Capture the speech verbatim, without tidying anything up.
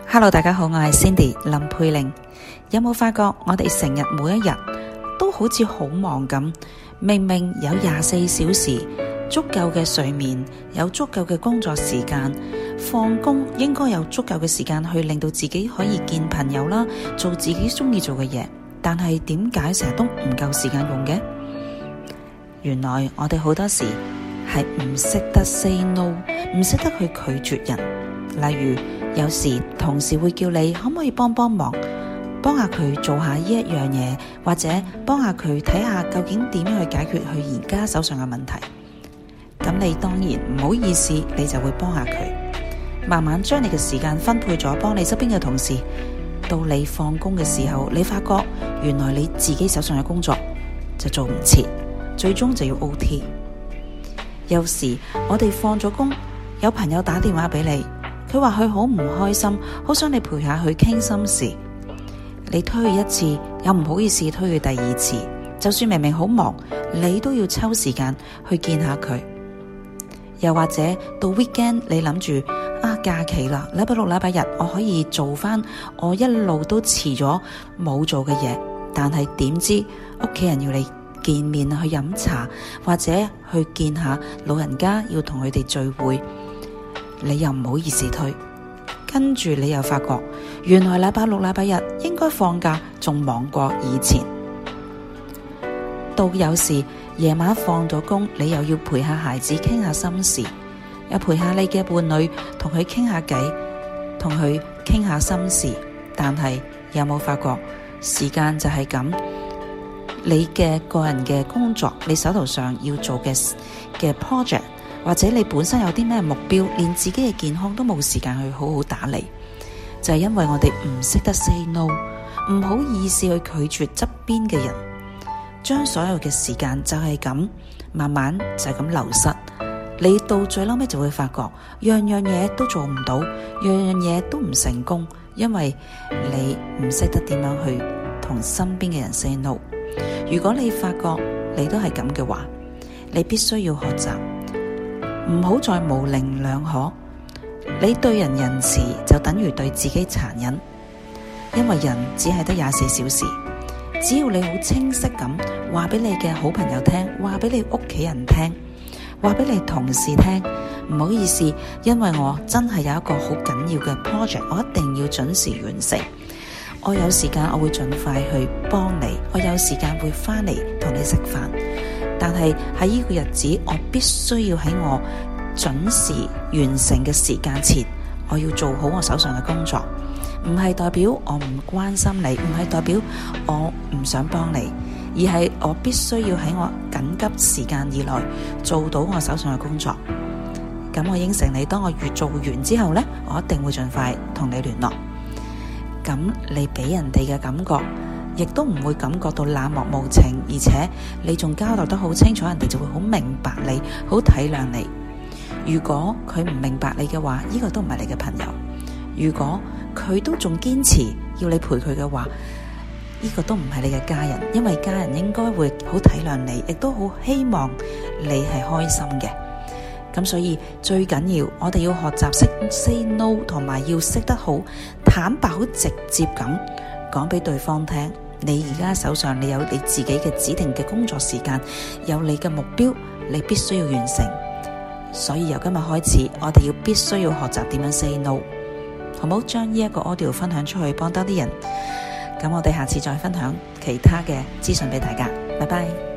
Hello， 大家好，我係 Cindy 林佩玲。有冇發覺我哋成日每一日都好似好忙咁？明明有廿四小時足夠嘅睡眠，有足夠嘅工作時間，放工應該有足夠嘅時間去令到自己可以見朋友啦，做自己中意做嘅嘢。但係點解成日都唔夠時間用嘅？原來我哋好多時係唔識得 say no， 唔識得去拒絕人。例如有時同事會叫你可唔可以幫幫忙，幫下佢做下呢一樣嘢，或者幫下佢睇下究竟點樣去解決佢而家手上嘅問題。咁你當然唔好意思，你就會幫下佢，慢慢將你嘅時間分配咗幫你側邊嘅同事。到你放工嘅時候，你發覺原來你自己手上嘅工作就做唔切，最終就要 O T。 有時我哋放咗工，有朋友打電話俾你，佢話佢好唔開心，好想你陪下佢傾心事。你推佢一次，又唔好意思推佢第二次，就算明明好忙，你都要抽時間去見下佢。又或者到 weekend， 你諗住啊假期啦，禮拜六禮拜日我可以做翻我一路都遲咗冇做嘅嘢，但係點知屋企人要你見面去飲茶，或者去見下老人家，要同佢哋聚會，你又唔好意思推。跟住你又發覺原來禮拜六禮拜日應該放假，仲忙過以前。到有時夜晚放咗工，你又要陪下孩子傾下心事，又陪下你嘅伴侶同佢傾下偈，同佢傾下心事。但係有冇發覺時間就係咁？你嘅個人嘅工作，你手頭上要做嘅嘅 project，或者你本身有啲咩目標，連自己嘅健康都冇時間去好好打理，就係因為我哋唔識得 say no， 唔好意思去拒絕側邊嘅人，將所有嘅時間就係咁慢慢就係咁流失。你到最嬲尾就會發覺樣樣嘢都做唔到，樣樣嘢都唔成功，因為你唔識得點樣去同身邊嘅人 say no。 如果你發覺你都係咁嘅話，你必須要學習唔好再模棱兩可。你對人仁慈就等於對自己殘忍，因為人只係得廿四小時。只要你好清晰咁話俾你嘅好朋友聽，話俾你屋企人聽，話俾你同事聽，唔好意思，因為我真係有一個好緊要嘅 project， 我一定要準時完成。我有時間我會盡快去幫你，我有時間會翻嚟同你食飯。但係喺呢個日子，我必須要喺我準時完成嘅時間前，我要做好我手上嘅工作。唔係代表我唔關心你，唔係代表我唔想幫你，而係我必須要喺我緊急時間以內做到我手上嘅工作。咁我應承你，當我越做完之後呢，我一定會盡快同你聯絡。咁你俾人哋嘅感覺亦都唔會感覺到冷漠無情，而且你仲交代得好清楚，人哋就會好明白你，好體諒你。如果佢唔明白你嘅話，呢個都唔係你嘅朋友。如果佢都仲堅持要你陪佢嘅話，呢個都唔係你嘅家人，因為家人應該會好體諒你，亦都好希望你係開心嘅。咁所以最緊要我哋要學習識 say no， 同埋要識得好坦白、好直接咁講俾對方聽，你而家手上你有你自己嘅指定嘅工作時間，有你嘅目標，你必須要完成。所以由今日開始，我哋要必須要學習點樣 say no， 好唔好？將呢一個 audio 分享出去，幫多啲人。咁我哋下次再分享其他嘅資訊俾大家。拜拜。